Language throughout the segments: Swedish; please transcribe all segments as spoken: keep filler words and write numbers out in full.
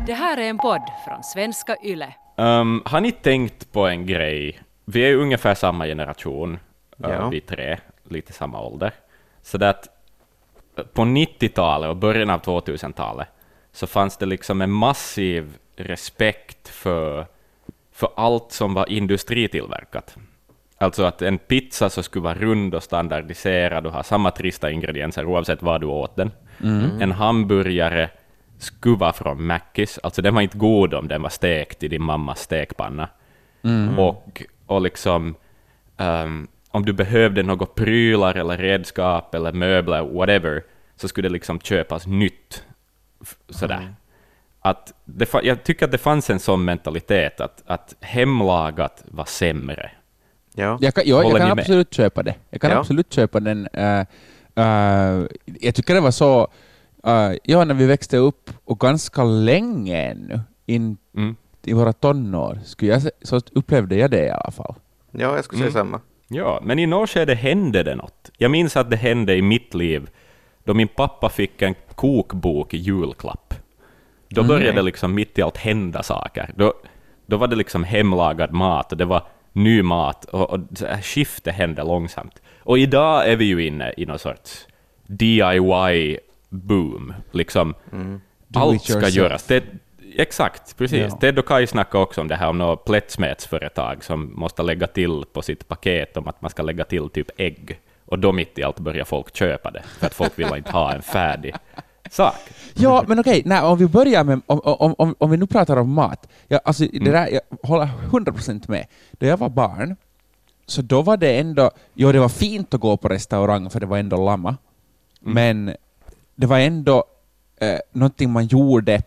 Det här är en podd från Svenska Yle. Um, har ni tänkt på en grej? Vi är ju ungefär samma generation, ja. uh, vi tre, lite samma ålder. Så det att på nittiotalet och början av tvåtusentalet så fanns det liksom en massiv respekt för, för allt som var industritillverkat. Alltså att en pizza så skulle vara rund och standardiserad och ha samma trista ingredienser oavsett vad du åt den. Mm. En hamburgare skulle vara från Mackis, alltså den var inte god om den var stekt i din mammas stekpanna. Mm. Och, och liksom um, om du behövde något prylar eller redskap eller möbler, whatever, så skulle det liksom köpas nytt. Sådär. Mm. Att det, jag tycker att det fanns en sån mentalitet att, att hemlagat var sämre. Ja. Jag kan, jag, jag kan absolut köpa det. Jag kan ja. absolut köpa den. Uh, uh, jag tycker det var så, uh, ja, när vi växte upp och ganska länge ännu in mm. i våra tonår, skulle jag, så upplevde jag det i alla fall. Ja, jag skulle säga mm. samma. Ja, men i något skede hände det något. Jag minns att det hände i mitt liv då min pappa fick en kokbok i julklapp. Då började mm. liksom mitt i allt hända saker. Då, då var det liksom hemlagad mat och det var ny mat och, och skiftet hände långsamt. Och idag är vi ju inne i någon sorts D I Y-boom. Liksom, mm. allt ska göras. Det, exakt, precis. Ja. Ted och Kai snackade också om det här om något plättsmetsföretag som måste lägga till på sitt paket om att man ska lägga till typ ägg. Och då mitt i allt börjar folk köpa det. För att folk vill inte ha en färdig sak. Ja, men okej, nej, om vi börjar med, om, om, om, om vi nu pratar om mat. Jag, alltså, mm. det där, jag håller hundra procent med. Då jag var barn, så då var det ändå, jo det var fint att gå på restaurang för det var ändå lamma. Mm. Men det var ändå eh, någonting man gjorde.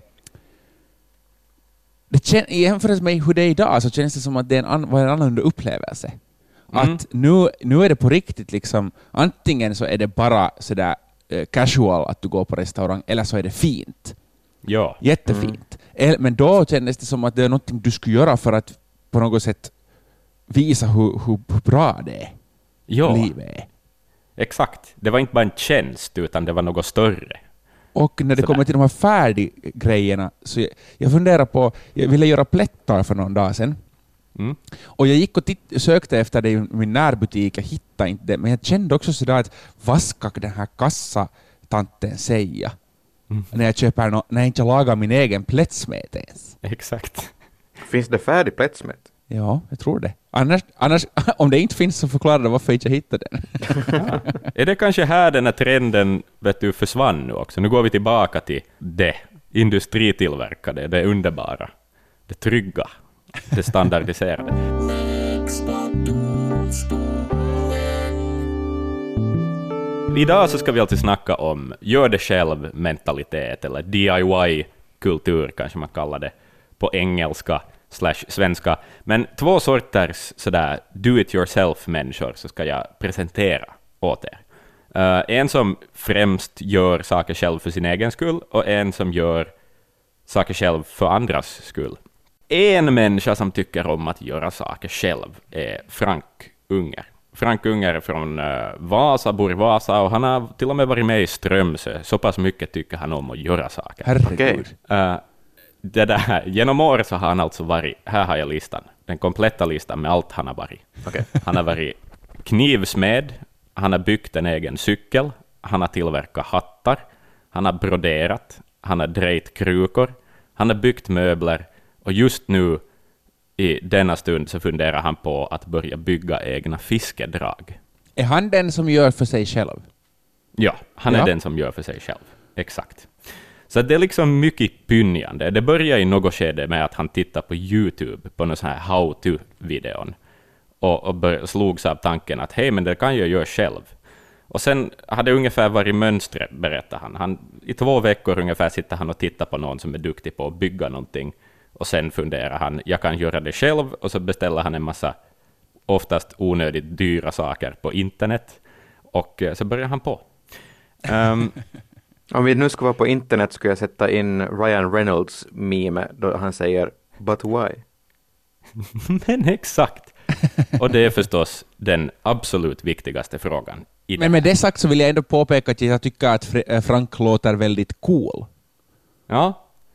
Det kän, i jämförelse med hur det är idag så känns det som att det är en, var en annan upplevelse. Mm. Att nu, nu är det på riktigt liksom, antingen så är det bara sådär eh, casual att du går på restaurang, eller så är det fint. Ja. Jättefint. Mm. Men då kändes det som att det är något du skulle göra för att på något sätt visa hur, hur, hur bra det är. Ja. Livet är. Exakt. Det var inte bara en tjänst utan det var något större. Och när det Sådär. kommer till de här färdiggrejerna så jag, jag funderar på, jag ville göra plättar för någon dag sedan. Mm. Och jag gick och titt- sökte efter det i min närbutik, jag hittade inte det, men jag kände också sådär att vad ska den här kassatanten säga mm. när jag köper no- när jag inte lagar min egen plättsmet ens. Exakt. Finns det färdig plättsmet? Ja, jag tror det. Annars, annars om det inte finns så förklarar det varför jag inte hittade den. Ja. Är det kanske här den här trenden vet du, försvann nu också? Nu går vi tillbaka till det industritillverkade, det underbara, det trygga. Det standardiserade. Idag så ska vi alltid snacka om gör det själv mentalitet eller D I Y-kultur kanske man kallar det på engelska slash svenska. Men två sorters sådär do-it-yourself-människor så ska jag presentera åt er. Uh, en som främst gör saker själv för sin egen skull och en som gör saker själv för andras skull. En människa som tycker om att göra saker själv är Frank Unger. Frank Unger är från uh, Vasa, bor i Vasa och han har till och med varit med i Strömsö. Så pass mycket tycker han om att göra saker. Herregud. Uh, det där, genom året så har han alltså varit, här har jag listan, den kompletta listan med allt han har varit. Okay. Han har varit knivsmed, han har byggt en egen cykel, han har tillverkat hattar, han har broderat, han har drejt krukor, han har byggt möbler. Och just nu, i denna stund, så funderar han på att börja bygga egna fiskedrag. Är han den som gör för sig själv? Ja, han är ja. den som gör för sig själv. Exakt. Så det är liksom mycket pynjande. Det börjar i något skede med att han tittar på YouTube på någon sån här how-to-videon. Och, och bör, slogs av tanken att hej, men det kan jag göra själv. Och sen hade ungefär varit mönstret, berättar han. han. I två veckor ungefär sitter han och tittar på någon som är duktig på att bygga någonting. Och sen funderar han, jag kan göra det själv, och så beställer han en massa oftast onödigt dyra saker på internet. Och så börjar han på. Um, Om vi nu ska vara på internet skulle jag sätta in Ryan Reynolds meme då han säger, but why? Men exakt. Och det är förstås den absolut viktigaste frågan. I Men med det sagt så vill jag ändå påpeka att jag tycker att Frank låter väldigt cool. Ja.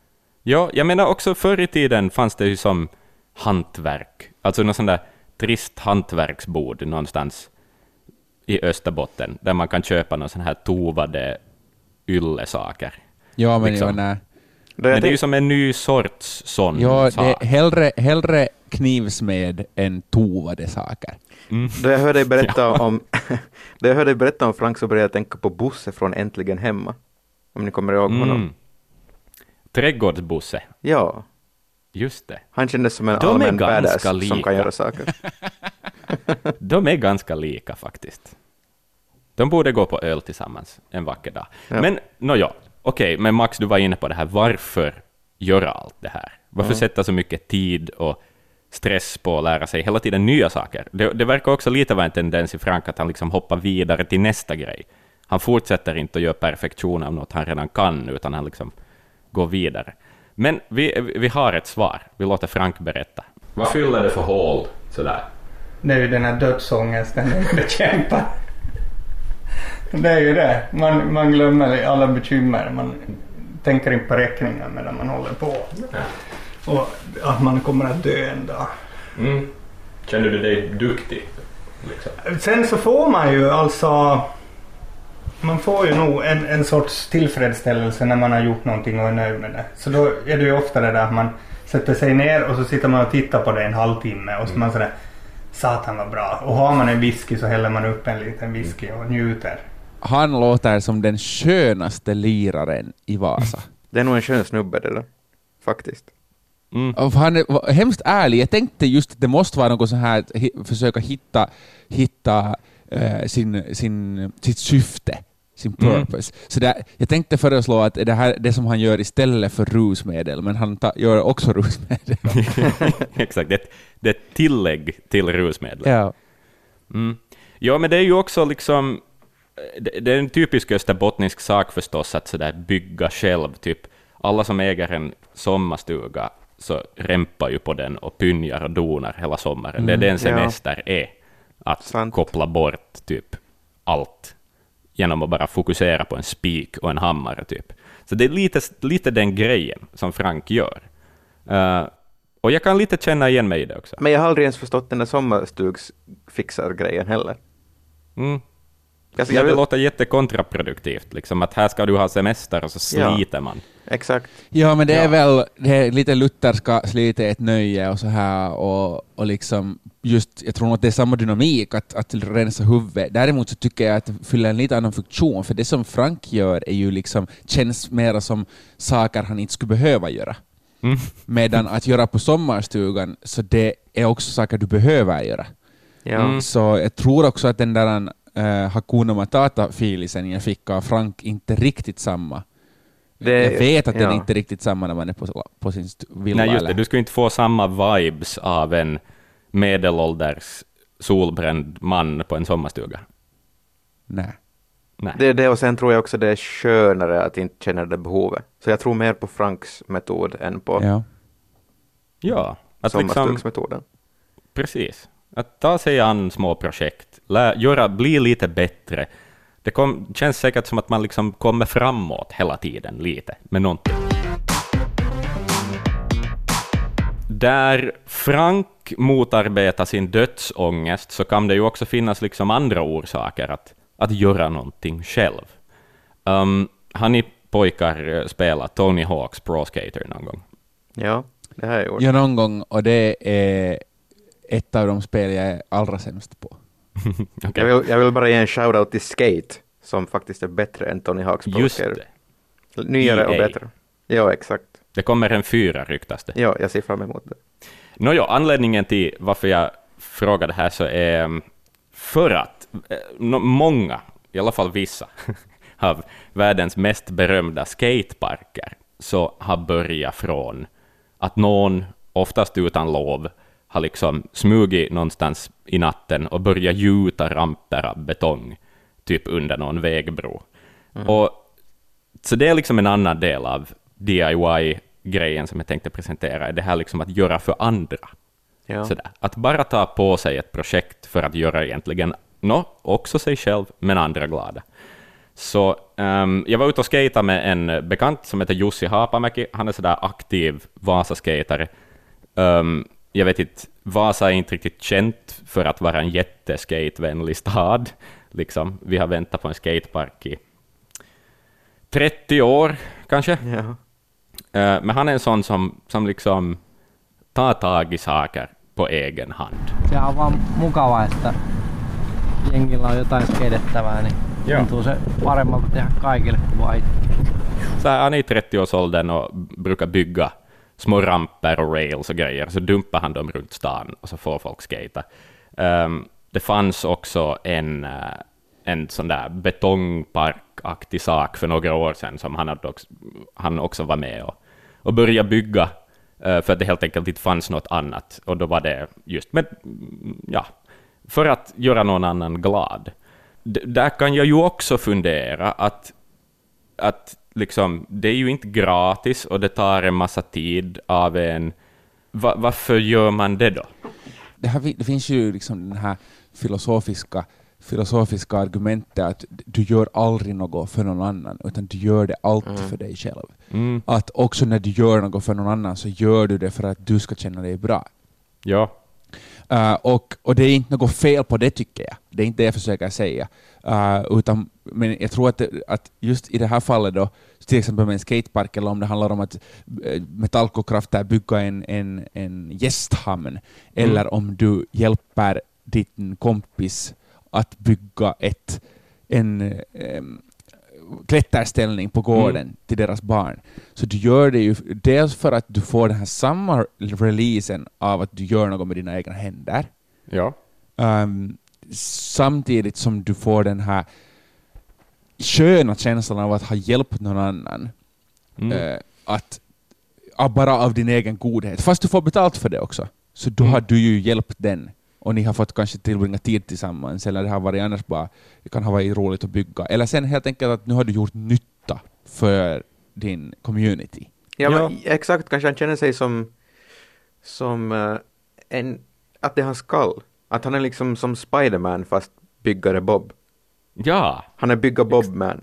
Ja, jag menar också förr i tiden fanns det ju som hantverk. Alltså någon sån där trist hantverksbord någonstans i Österbotten, där man kan köpa någon sån här tovade yllesaker. Ja, men liksom. ja, nej. Men det är ju som en ny sorts sån ja, sak. det är hellre, hellre knivsmed än tovade saker. Mm. Då jag hörde dig berätta ja. om då jag hörde dig berätta om Frank så började jag tänka på Bosse från Äntligen hemma. Om ni kommer ihåg honom. Mm. Trädgårdsbosse. Ja. Just det. Han kändes som en De allmän badass som kan göra saker. De är ganska lika faktiskt. De borde gå på öl tillsammans en vacker dag. Ja. Men, no, ja. Okej, okay, men Max, du var inne på det här. Varför göra allt det här? Varför mm. sätta så mycket tid och stress på att lära sig hela tiden nya saker? Det, det verkar också lite vara en tendens i Frank att han liksom hoppar vidare till nästa grej. Han fortsätter inte att göra perfektion av något han redan kan, utan han liksom går vidare. Men vi, vi har ett svar. Vi låter Frank berätta. Vad fyller det för hål sådär? Det är ju den här dödsångesten den bekämpar. Det är ju det. Man, man glömmer alla bekymmer. Man tänker inte på räkningar medan man håller på. Ja. Och att man kommer att dö en dag. Mm. Känner du dig duktig? Liksom? Sen så får man ju alltså... Man får ju nog en, en sorts tillfredsställelse när man har gjort någonting och är nöjd med det. Så då är det ju ofta det där att man sätter sig ner och så sitter man och tittar på det en halvtimme och så man sådär, satan var bra. Och har man en whisky så häller man upp en liten whisky och njuter. Han låter som den skönaste liraren i Vasa. Det är nog en skön snubbe det där, faktiskt. Mm. Och han är hemskt ärlig. Jag tänkte just att det måste vara något så här att försöka hitta, hitta uh, sin, sin, sitt syfte, sin purpose. Mm. Så där, jag tänkte föreslå att det här det som han gör istället för rusmedel, men han ta, gör också rusmedel. Exakt, det, det är ett tillägg till rusmedel. Ja. Mm. Ja, men det är ju också liksom det, det är en typisk österbottnisk sak förstås att så där bygga själv, typ alla som äger en sommarstuga så rämpar ju på den och pynjar och donar hela sommaren. Mm, det är den semester ja. är att Sant. koppla bort typ allt genom att bara fokusera på en spik och en hammare typ. Så det är lite, lite den grejen som Frank gör. Uh, och jag kan lite känna igen mig i det också. Men jag har aldrig ens förstått den där sommarstugs-fixar-grejen heller. Mm. Alltså, jag vill låta jättekontraproduktivt, liksom, att här ska du ha semester och så sliter ja, man. Exakt. Ja, men det är ja. väl det är lite lutherska slita ett nöje och så här och, och liksom just, jag tror att det är samma dynamik att, att rensa huvudet. Däremot så tycker jag att det fyller en lite annan funktion, för det som Frank gör är ju liksom, känns mer som saker han inte skulle behöva göra. Mm. Medan att göra på sommarstugan, så det är också saker du behöver göra. Ja. Mm. Så jag tror också att den där Uh, Hakuna Matata-filisen jag fick av Frank inte riktigt samma. Det, jag vet att ja. den är inte riktigt samma när man är på, på sin villa. Nej, just det. Du skulle inte få samma vibes av en medelålders solbränd man på en sommarstuga. Nej. Nej. Det är det, och sen tror jag också det är skönare att inte känna det behovet. Så jag tror mer på Franks metod än på ja. Ja, att sommarstugsmetoden. Liksom, precis. Att ta sig an små projekt, lä, göra, bli lite bättre. Det kom, känns säkert som att man liksom kommer framåt hela tiden lite med någonting. Där Frank motarbetar sin dödsångest så kan det ju också finnas liksom andra orsaker att, att göra någonting själv. Um, har ni pojkar spelat Tony Hawk's Pro Skater någon gång? Ja, det har jag gjort. Ja, någon gång, och det är ett av de spel jag är allra sämst på. Okay. jag, vill, jag vill bara ge en shoutout till Skate, som faktiskt är bättre än Tony Hawk's Pro Skater. Just det. Nyare E A. Och bättre. Ja, exakt. Det kommer en fyra, ryktas det. Ja, jag ser fram emot det. Nåja, anledningen till varför jag frågade här så är för att no, många, i alla fall vissa, av världens mest berömda skateparker så har börjat från att någon, oftast utan lov, har liksom smugit någonstans i natten och börjat gjuta ramper av betong typ under någon vägbro. Mm. Och, så det är liksom en annan del av D I Y-grejen som jag tänkte presentera. Det här liksom att göra för andra. Ja. Sådär. Att bara ta på sig ett projekt för att göra egentligen no, också sig själv men andra glada. Så um, jag var ute och skejtade med en bekant som heter Jussi Haapamäki. Han är sådär aktiv Vasa-skatare. Um, jag vet inte, Vasa är inte riktigt känt för att vara en jätteskatevänlig stad. Liksom. Vi har väntat på en skatepark i trettio år kanske. Ja. Uh, men han är en sån som, som liksom tar tag i saker på egen hand. Se on vaan mukavaa, että jengillä on jotain skedettävää, niin Joo. tuntuu se paremmalta tehdä kaikille kuin vaan itse. Så här, han är i trettioårsåldern och brukar bygga små ramper och rails och grejer, så dumpar han dem runt stan och så får folk skata. Um, det fanns också en, uh, en sån där betongparkaktig sak för några år sedan som han, hade också, han också var med och, och började bygga uh, för att det helt enkelt inte fanns något annat. Och då var det just med, ja, för att göra någon annan glad. D- där kan jag ju också fundera att, att liksom, det är ju inte gratis och det tar en massa tid av en. Va, varför gör man det då? Det, här, det finns ju liksom den här filosofiska, filosofiska argumentet att du gör aldrig något för någon annan, utan du gör det alltid mm. för dig själv. Mm. Att också när du gör något för någon annan så gör du det för att du ska känna dig bra. Ja. Uh, och, och det är inte något fel på det, tycker jag. Det är inte det jag försöker säga. Uh, utan, men jag tror att, det, att just i det här fallet då, till exempel med en skatepark, eller om det handlar om att Metallkokraft bygga en, en, en gästhamn, mm. eller om du hjälper din kompis att bygga ett, en um, klätterställning på gården mm. till deras barn. Så du gör det ju dels för att du får den här samma releasen av att du gör något med dina egna händer. Ja. Um, samtidigt som du får den här sköna känslan av att ha hjälpt någon annan. Mm. Uh, att uh, bara av din egen godhet. Fast du får betalt för det också. Så då mm. har du ju hjälpt den. Och ni har fått kanske tillbringa tid tillsammans. Eller det har varit annars bara, det kan ha varit roligt att bygga. Eller sen helt enkelt att nu har du gjort nytta för din community. Ja, ja. Men exakt. Kanske han känner sig som, som uh, en, att det är hans skall. Att han är liksom som Spider-Man fast byggare Bob. Ja. Han är bygga Bob-man.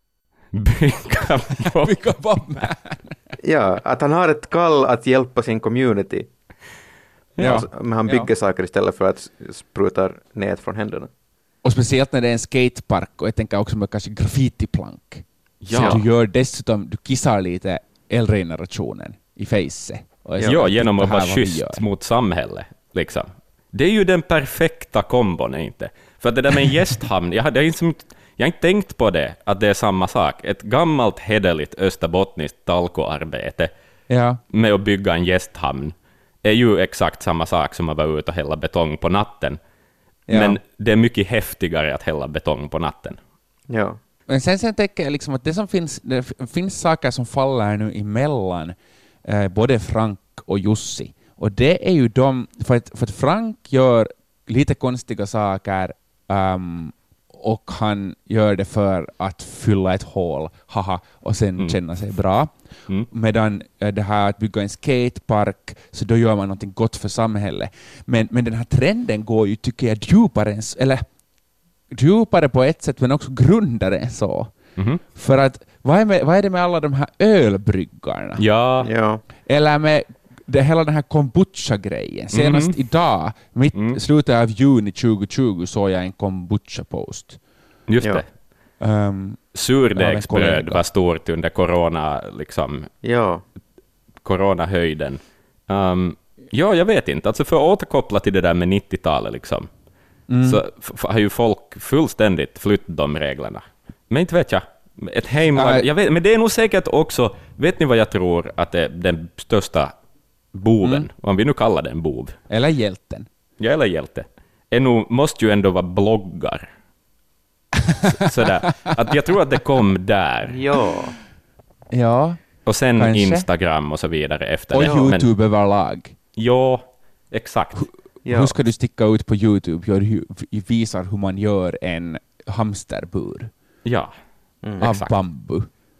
Bygga Bob. Bygga Bob-man. Ja, att han har ett kall att hjälpa sin community. Ja. Alltså, men han bygger ja. saker istället för att spruta nät från händerna. Och speciellt när det är en skatepark, och jag tänker också med kanske graffitiplank. Ja. Så du gör dessutom, du kissar lite äldre-generationen i face. Ja, ja, genom att vara schysst mot samhället. Liksom. Det är ju den perfekta kombon, inte? För det där med en gästhamn, jag hade inte, jag har inte tänkt på det, att det är samma sak. Ett gammalt hederligt österbottniskt talkoarbete ja. med att bygga en gästhamn är ju exakt samma sak som att vara ute och hälla betong på natten. Ja. Men det är mycket häftigare att hälla betong på natten. Ja. Men sen, sen tänker jag liksom att det som finns, det finns saker som faller nu emellan eh, både Frank och Jussi. Och det är ju de, för att, för att Frank gör lite konstiga saker um, och han gör det för att fylla ett hål, haha, och sen mm. känna sig bra. Mm. Medan det här att bygga en skatepark, så då gör man någonting gott för samhället. Men, men den här trenden går ju, tycker jag, djupare, eller djupare på ett sätt, men också grundare än så. Mm. För att, vad är, med, vad är det med alla de här ölbryggarna? Ja. ja. Eller med det, hela den här kombucha-grejen. Senast mm. idag, mitt mm. slutet av juni tjugo tjugo, såg jag en kombucha-post. Just ja. det. Um, Surdegsbröd var stort under corona, liksom. Ja. Coronahöjden. Um, ja, jag vet inte. Alltså för att återkoppla till det där med nittiotalet, liksom, mm. så f- har ju folk fullständigt flyttat de reglerna. Men inte vet jag. Ett heimlag, uh, jag vet, men det är nog säkert också, vet ni vad jag tror att det är den största boven, mm. om vi nu kallar det en bov. Eller hjälten. Ja, eller hjälte. Är nog, måste ju ändå vara bloggar. Så, sådär. Att jag tror att det kom där. Ja. Ja. Och sen kanske. Instagram och så vidare efter och det. Och YouTube men, överlag. Ja, exakt. H- ja. Hur ska du sticka ut på YouTube? Gör, visar hur man gör en hamsterbur. Ja, mm. Av exakt. Bambu.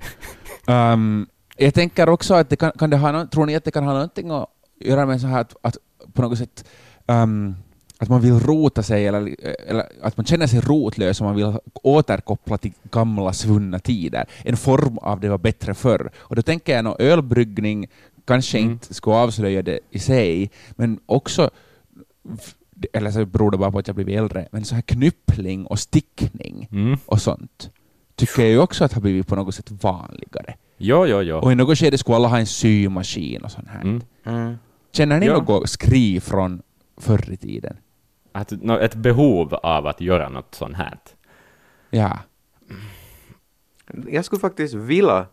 um, jag tänker också att det kan, kan det ha no- tror ni att det kan ha någonting att göra med så här att, att på något sätt um, att man vill rota sig eller, eller att man känner sig rotlös och man vill återkoppla till gamla svunna tider. En form av det var bättre förr. Och då tänker jag nog ölbryggning kanske mm. inte skulle avslöja det i sig, men också, eller så beror det bara på att jag blivit äldre, men så här knyppling och stickning mm. och sånt tycker jag ju också att har blivit på något sätt vanligare. Jo, jo, jo. Och i något skede skulle alla ha en symaskin och sånt här. Mm. Mm. Känner ni ja. något skriv från förr i tiden? Att, ett behov av att göra något sånt här. Ja. Jag skulle faktiskt vilja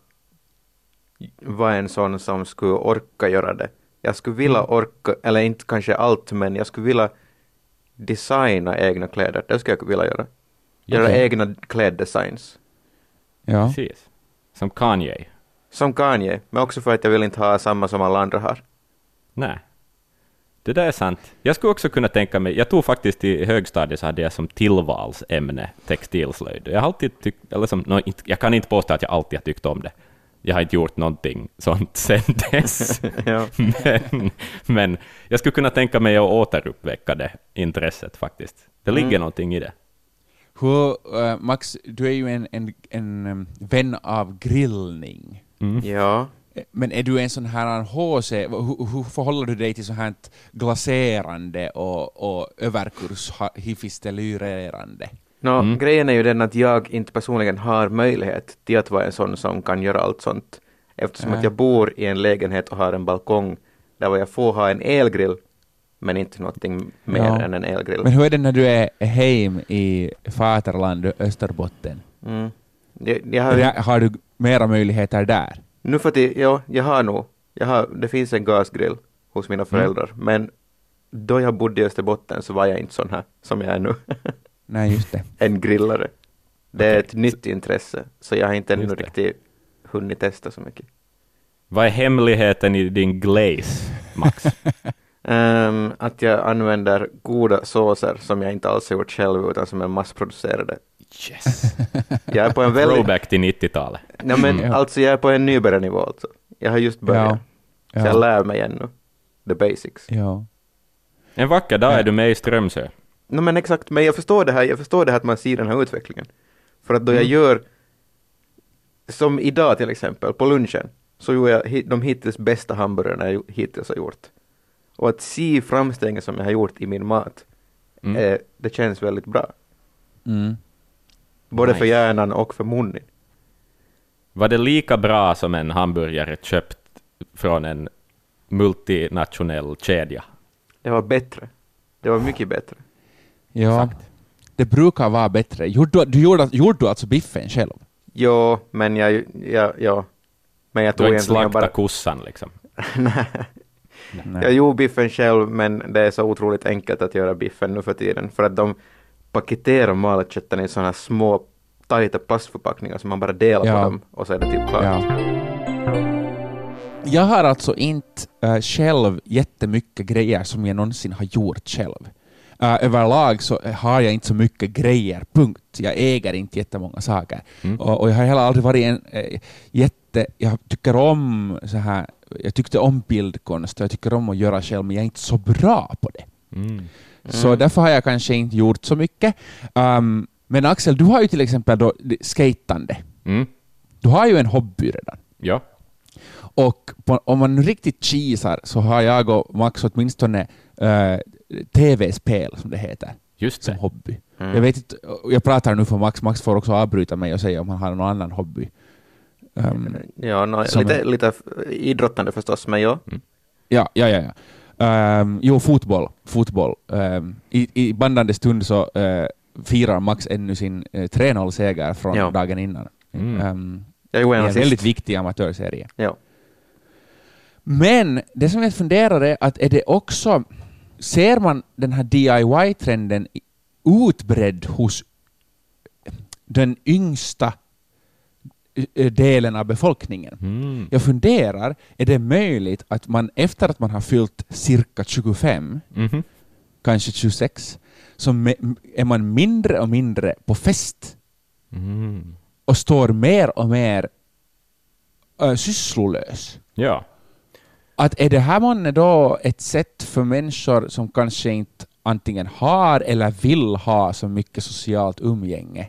vara en sån som skulle orka göra det. Jag skulle vilja orka, eller inte kanske allt, men jag skulle vilja designa egna kläder. Det skulle jag vilja göra. Göra okay. egna kläddesigns. Ja. Precis. Som Kanye. Som Kanye, men också för att jag vill inte ha samma som alla andra har. Nej. Det där är sant. Jag skulle också kunna tänka mig, jag tog faktiskt i högstadiet så hade jag som tillvalsämne textilslöjd. Jag har alltid tyckt, eller som, no, inte, jag kan inte påstå att jag alltid har tyckt om det. Jag har inte gjort någonting sånt sen dess. ja. men, men jag skulle kunna tänka mig att återuppväcka det intresset faktiskt. Det ligger mm. någonting i det. Hur, uh, Max, du är ju en, en, en um, vän av grillning. Mm. Ja. Men är du en sån här H C, hur, hur förhåller du dig till så här glaserande och, och överkurs hifistelyrerande? No, mm. grejen är ju den att jag inte personligen har möjlighet till att vara en sån som kan göra allt sånt. Eftersom äh. att jag bor i en lägenhet och har en balkong där jag får ha en elgrill, men inte någonting mer ja. än en elgrill. Men hur är det när du är hem i Faterland, Österbotten? Mm. Jag, jag har, har, har du mera möjligheter där? Nu för att ja, jag har nog. Jag har, det finns en gasgrill hos mina föräldrar, mm. men då jag bodde i Österbotten så var jag inte sån här som jag är nu. Nej, just det. En grillare. Det är okay. ett nytt intresse, så jag har inte ännu riktigt hunnit testa så mycket. Vad är hemligheten i din glaze, Max? um, att jag använder goda såser som jag inte alls har gjort själv utan som är massproducerade. Yes. Jag är på en väldigt... Throwback till nittiotalet. Nej, men mm. alltså jag är på en nybörjarnivå alltså. Jag har just börjat. Ja. Så ja. jag lär mig ännu. The basics. Ja. En vacker dag är du med i Strömsö. No, men exakt, men jag förstår det här. Jag förstår det här att man ser den här utvecklingen. För att då mm. jag gör, som idag till exempel, på lunchen, så gjorde jag de hittills bästa hamburgarna jag hittills har gjort. Och att se framstegen som jag har gjort i min mat, mm. eh, det känns väldigt bra. Mm. Både nice. för hjärnan och för munnen. Var det lika bra som en hamburgare köpt från en multinationell kedja? Det var bättre. Det var mycket bättre. Ja, exakt. Det brukar vara bättre. Gjorde, du gjorde, gjorde du alltså biffen själv? Jo, men jag... Ja, ja. Men jag tog du har inte slakta bara... kossan liksom? Nej. Nej. Jag gjorde biffen själv, men det är så otroligt enkelt att göra biffen nu för tiden. För att de paketerar malet köttet i sådana små tajta plastförpackningar som man bara delar ja. på dem och så är det typ klart. Ja. Jag har alltså inte äh, själv jättemycket grejer som jag någonsin har gjort själv. Äh, överlag så har jag inte så mycket grejer, punkt. Jag äger inte jättemånga saker. Mm. Och, och jag har heller aldrig varit en äh, jätte... Jag tycker om så här... Jag tyckte om bildkonst och jag tycker om att göra själv, men jag är inte så bra på det. Mm. Mm. Så därför har jag kanske inte gjort så mycket. Um, men Axel, du har ju till exempel då skatande. Mm. Du har ju en hobby redan. Ja. Och på, om man riktigt cheesar så har jag och Max åtminstone uh, tv-spel som det heter. Just som det. hobby. Mm. Jag vet inte, jag pratar nu för Max. Max får också avbryta mig och säga om han har någon annan hobby. Um, ja, no, lite, är... lite idrottande förstås, men ja. Mm. Ja, ja, ja. ja. Um, jo, fotboll. fotboll. Um, i, I bandande stund så uh, firar Max ännu sin uh, tre noll-seger från ja. dagen innan. Mm. Um, jag är en sist. väldigt viktig amatörserie. Ja. Men det som jag funderar är att är det också, ser man den här D I Y-trenden utbredd hos den yngsta delen av befolkningen. Mm. Jag funderar, är det möjligt att man efter att man har fyllt cirka tjugofem, mm-hmm. kanske tjugosex, så är man mindre och mindre på fest mm. och står mer och mer äh, sysslolös. Ja. Att är det här man då ett sätt för människor som kanske inte antingen har eller vill ha så mycket socialt umgänge.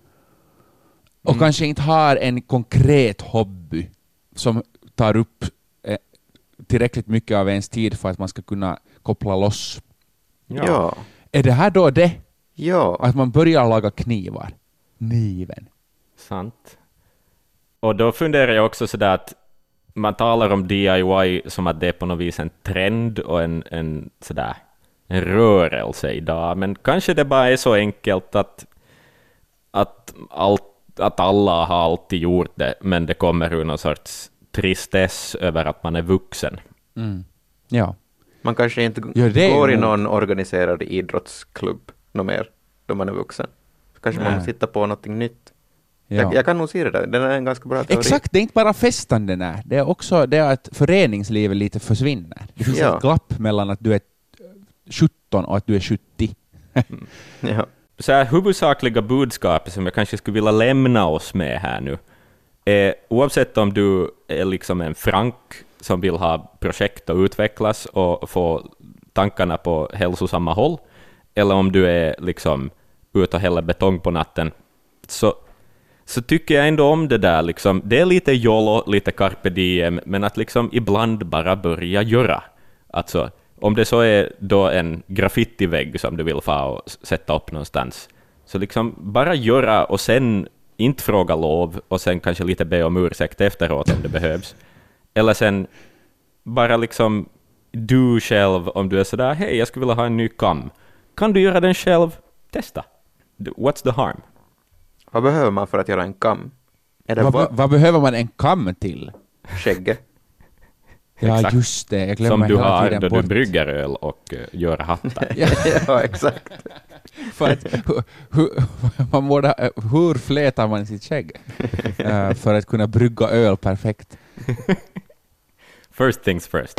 Och mm. kanske inte har en konkret hobby som tar upp eh, tillräckligt mycket av ens tid för att man ska kunna koppla loss. Ja. ja. Är det här då det? Ja. Att man börjar laga knivar? Niven. Sant. Och då funderar jag också sådär att man talar om D I Y som att det är på något vis en trend och en, en, sådär, en rörelse idag. Men kanske det bara är så enkelt att, att, allt, att alla har alltid gjort det, men det kommer ur någon sorts tristess över att man är vuxen. Mm. Ja. Man kanske inte ja, går är... i någon organiserad idrottsklubb något mer då man är vuxen. Så kanske Nej. man måste hitta på något nytt. Ja. Jag, jag kan nog se det där. Den är en ganska bra teori. Exakt, det är inte bara festen den är. Det är också det att föreningslivet lite försvinner. Det finns ja. ett glapp mellan att du är sjutton och att du är sjuttio. mm. ja. Så här huvudsakliga budskapet som jag kanske skulle vilja lämna oss med här nu är, oavsett om du är liksom en frank som vill ha projekt att utvecklas och få tankarna på hälsosamma håll, eller om du är liksom ut och häller betong på natten, så så tycker jag ändå om det där. Liksom. Det är lite YOLO, lite carpe diem, men att liksom ibland bara börja göra. Alltså, om det så är då en graffitivägg som du vill få och sätta upp någonstans, så liksom bara göra och sen inte fråga lov och sen kanske lite be om ursäkt efteråt om det behövs. Eller sen bara liksom du själv, om du är sådär, hej, jag skulle vilja ha en ny kam. Kan du göra den själv? Testa. What's the harm? Vad behöver man för att göra en kam? Är det vad, va- vad behöver man en kam till? Skägge. Ja, exakt. Just det. Jag glömmer som du hela har tiden då bort. Du brygger öl och uh, gör hattar. ja, exakt. för att, hu, hu, man borde, hur flätar man sitt skägg? uh, för att kunna brygga öl perfekt. First things first.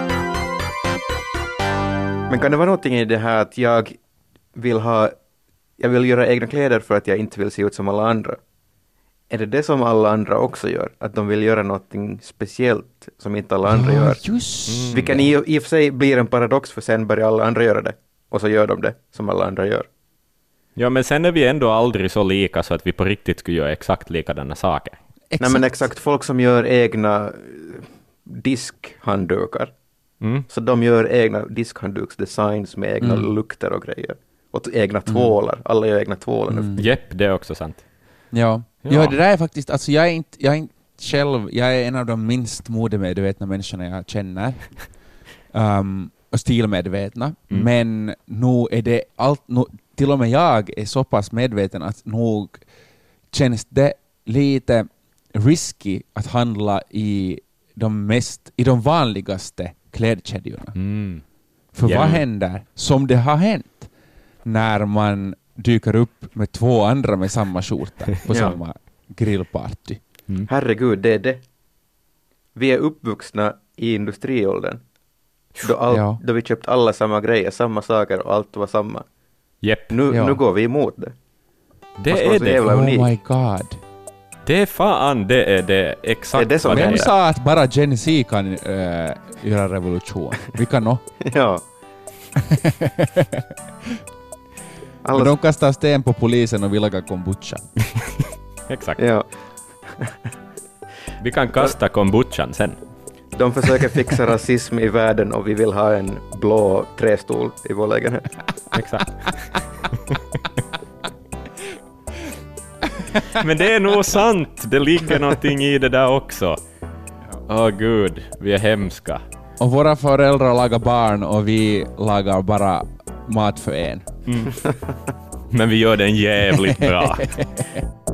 Men kan det vara någonting i det här att jag vill ha jag vill göra egna kläder för att jag inte vill se ut som alla andra? Är det det som alla andra också gör? Att de vill göra någonting speciellt som inte alla andra ja, gör? Just mm. Vilken i, i och för sig blir en paradox, för sen börjar alla andra göra det. Och så gör de det som alla andra gör. Ja, men sen är vi ändå aldrig så lika så att vi på riktigt skulle göra exakt likadana saker. Exakt. Nej, men exakt. Folk som gör egna diskhanddukar. Mm. Så de gör egna diskhandduksdesigns med egna mm. lukter och grejer. Och egna tvålar. Mm. Alla gör egna tvålar. Mm. Jepp, det är också sant. Ja. Ja. ja, det där är faktiskt... Alltså jag är inte, jag är inte själv... Jag är en av de minst modemedvetna människorna jag känner. Um, och stilmedvetna. Mm. Men nu är det allt... Nu, till och med jag är så pass medveten att nog känns det lite risky att handla i de, mest, i de vanligaste klädkedjorna. Mm. För yeah. vad händer? Som det har hänt när man dyker upp med två andra med samma skjorta på ja. samma grillparty. Mm. Herregud, det är det. Vi är uppvuxna i industriåldern. Då, all, ja. då vi köpt alla samma grejer, samma saker och allt var samma. Yep. Nu, ja. nu går vi emot det. Det är det. Oh unikt. My god. Det är fan, det är det. Exakt det är det som vad Vem det är. sa att bara Gen Z kan uh, göra revolution? Vi kan nå. ja. Alla... De kastar sten på polisen och vill laga kombucha. Exakt. Ja. Vi kan kasta kombuchan sen. De försöker fixa rasism i världen och vi vill ha en blå trästol i vår lägenhet. Exakt. Men det är nog sant. Det ligger någonting i det där också. Åh oh, gud, vi är hemska. Och våra föräldrar lagar barn och vi lagar bara mat för en. Mm. Men vi gör den jävligt bra.